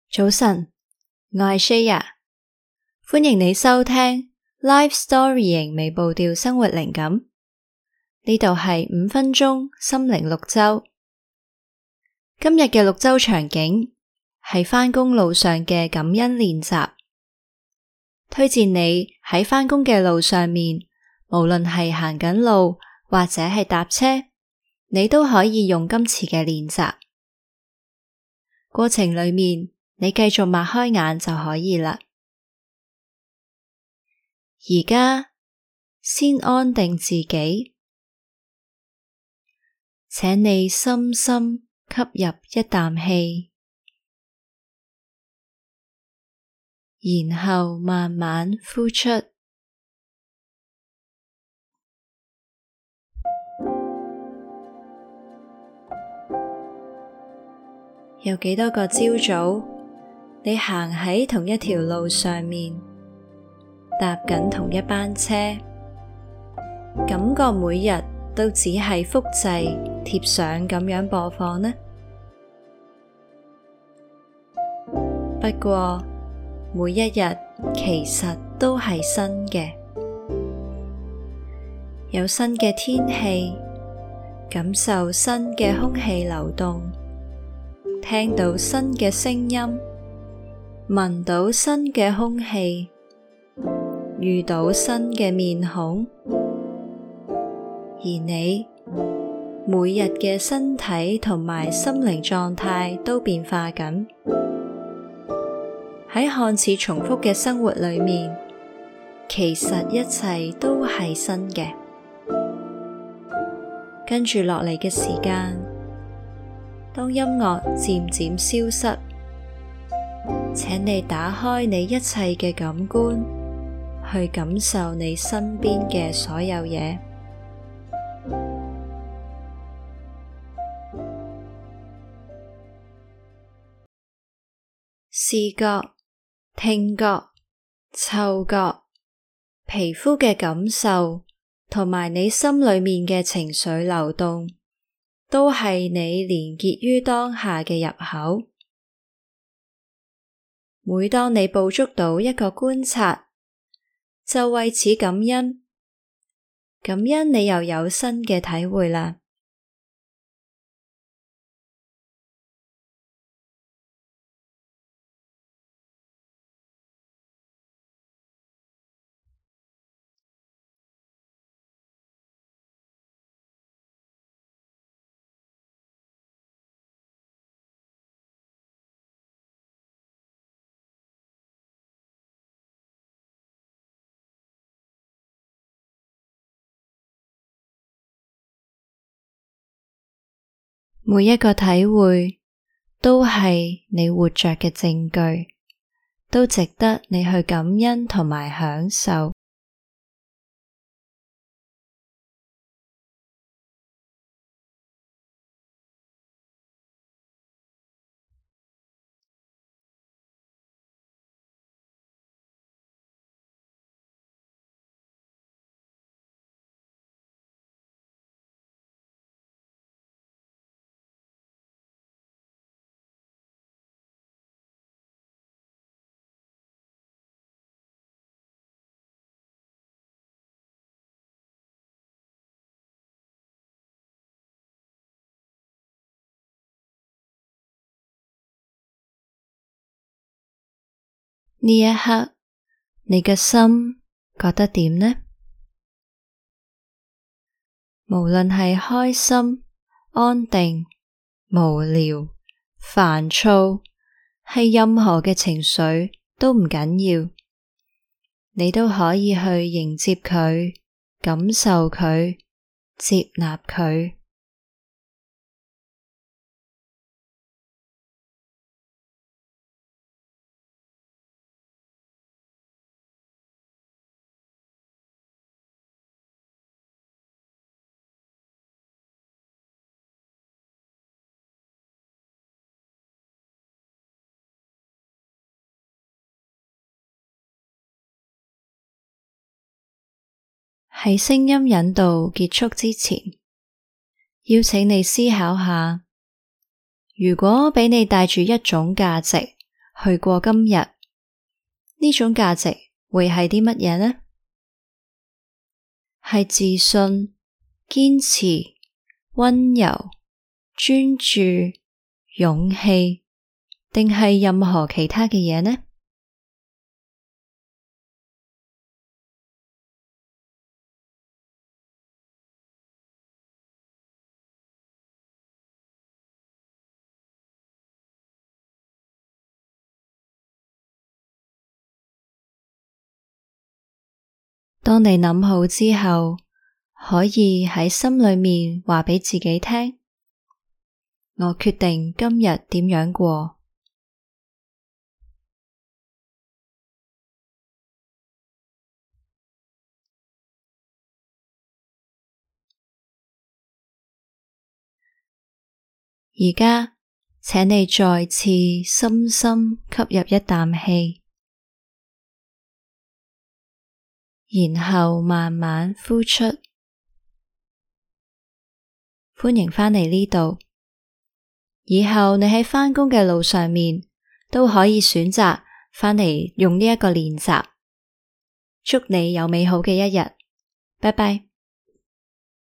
早晨，我係 Shaya， 歡迎你收聽 Life Storying 微步調生活靈感。呢度係5分鐘心靈綠洲。今日嘅綠洲場景係返工路上嘅感恩練習。推薦你喺返工嘅路上面，無論係行緊路或者係搭車，你都可以用今次嘅練習。過程裏面，你繼續擘開眼就可以啦。而家先安定自己，請你深深吸入一啖氣，然後慢慢呼出。有幾多個朝早，你行喺同一條路上面，搭緊同一班車，感覺每日都只係複製貼上咁樣播放呢？不過每一日其實都係新嘅，有新嘅天氣，感受新嘅空氣流動，聽到新嘅聲音，聞到新嘅空氣，遇到新嘅面孔，而你每日嘅身體同埋心靈狀態都變化緊。喺看似重複嘅生活裏面，其實一切都係新嘅。跟住落嚟嘅時間，當音樂漸漸消失，請你打開你一切嘅感官，去感受你身邊嘅所有嘢。視覺、聽覺、嗅覺、皮膚嘅感受，同埋你心裏面嘅情緒流動，都係你連結於當下嘅入口。每當你捕捉到一個觀察，就為此感恩，感恩你又有新嘅體會啦。每一個體會都係你活着嘅證據，都值得你去感恩同埋享受。呢一刻，你嘅心覺得點呢？無論係開心、安定、無聊、煩躁，係任何嘅情緒都唔緊要，你都可以去迎接佢，感受佢，接納佢。喺聲音引導結束之前，邀請你思考下，如果俾你帶住一種價值去過今日，呢種價值會係啲乜嘢呢？係自信、堅持、溫柔、專注、勇氣，定係任何其他嘅嘢呢？當你諗好之後，可以喺心裏面話畀自己聽：我決定今日點樣過。而家，請你再次深深吸入一啖氣，然後慢慢呼出。歡迎返嚟呢度。以後你喺返工嘅路上面都可以選擇返嚟用呢一個練習。祝你有美好嘅一日，拜拜。